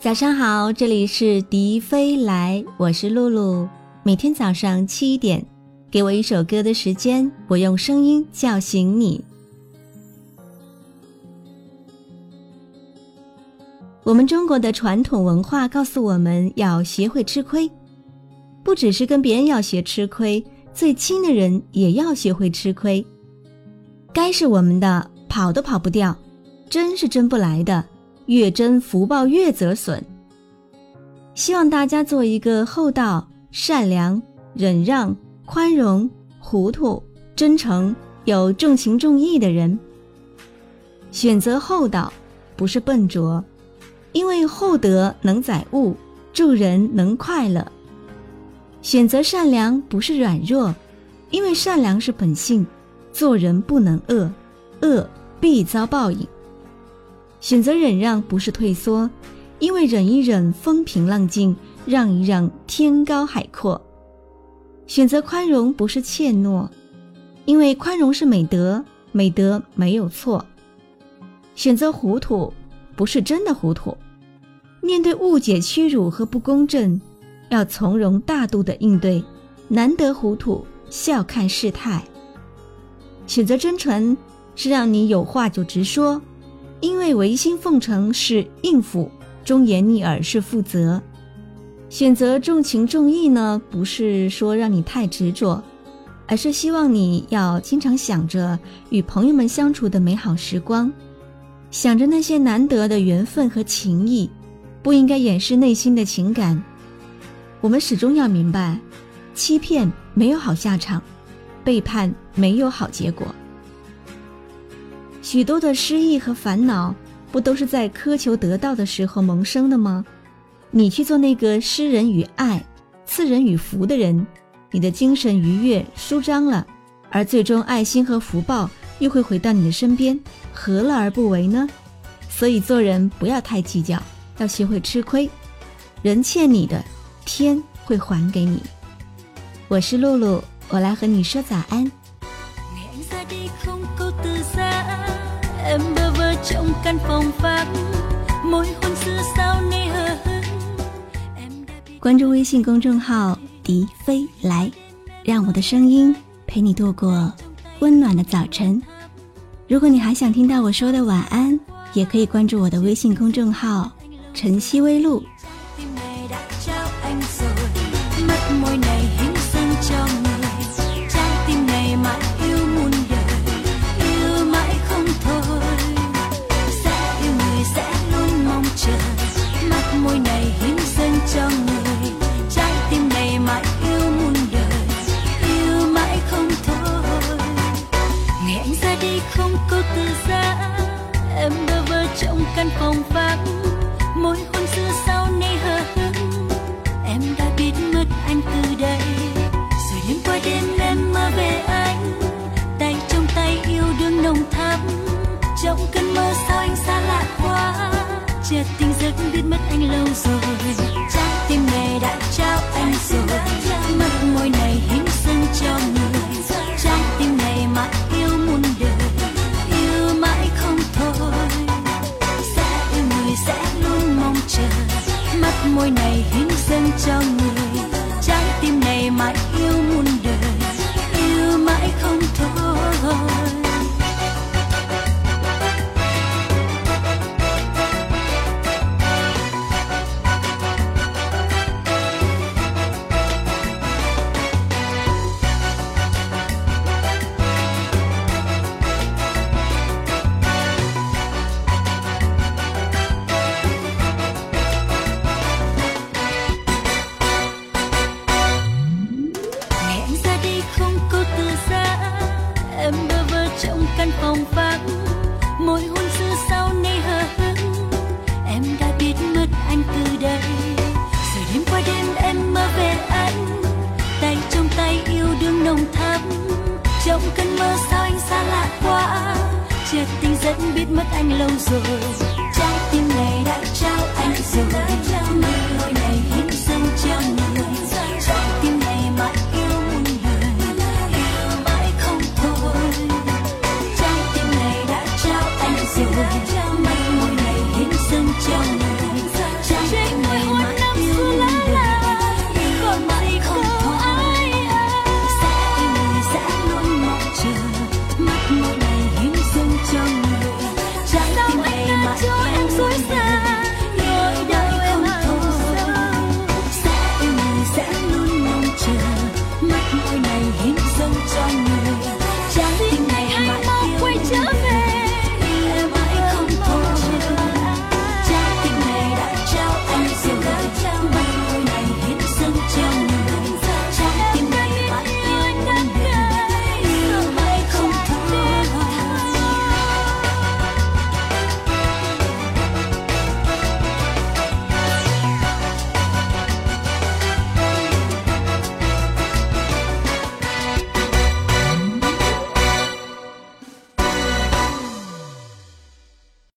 早上好，这里是迪飞来，我是露露。每天早上7点，给我一首歌的时间，我用声音叫醒你。我们中国的传统文化告诉我们要学会吃亏，不只是跟别人要学吃亏，最亲的人也要学会吃亏。该是我们的跑都跑不掉，争是争不来的，越争福报越折损。希望大家做一个厚道、善良、忍让、宽容、糊涂、真诚、有重情重义的人。选择厚道不是笨拙，因为厚德能载物，助人能快乐。选择善良不是软弱，因为善良是本性，做人不能恶，恶必遭报应。选择忍让不是退缩，因为忍一忍风平浪静，让一让天高海阔。选择宽容不是怯懦，因为宽容是美德，美德没有错。选择糊涂不是真的糊涂，面对误解、屈辱和不公正，要从容大度地应对，难得糊涂，笑看事态。选择真诚是让你有话就直说，因为违心奉承是应付，忠言逆耳是负责。选择重情重义呢，不是说让你太执着，而是希望你要经常想着与朋友们相处的美好时光，想着那些难得的缘分和情谊，不应该掩饰内心的情感。我们始终要明白，欺骗没有好下场，背叛没有好结果。许多的失意和烦恼，不都是在苛求得到的时候萌生的吗？你去做那个施人与爱、赐人与福的人，你的精神愉悦舒张了，而最终爱心和福报又会回到你的身边，何乐而不为呢？所以做人不要太计较，要学会吃亏，人欠你的，天会還給你。我是露露，我來和你說早安。关注微信公众号迪飞来，让我的声音陪你度过温暖的早晨。如果你还想听到我说的晚安，也可以关注我的微信公众号晨曦微露。 căn phòng vắng môi hôn xưa sau nay hờ hững, em đã biết mất anh từ đây rồi đêm qua đêm em mơ về anh, tay trong tay yêu đương nồng thắm. Trong cơn mơ sao anh xa lạ quá, chợt tỉnh giấc biết mất anh lâu rồi, trái tim này đã trao anh rồi, mất môi này hiến dâng cho người, trái tim này mãi yêu muôn đời, yêu mãi không thôi. Sẽ luôn mong chờ, mắt môi này hiến dâng cho người, trái tim này mãi yêu muôn đời, yêu mãi không thôi. Căn phòng vắng môi hôn xưa sau nay hờ hững, em đã biết mất anh từ đây rồi đêm qua đêm em mơ về anh, tay trong tay yêu đương nồng thắm. Trong cơn mơ sao anh xa lạ quá, chợt tỉnh giấc biết mất anh lâu rồi, trái tim này đã trao anh rồi, môi này hiến dâng cho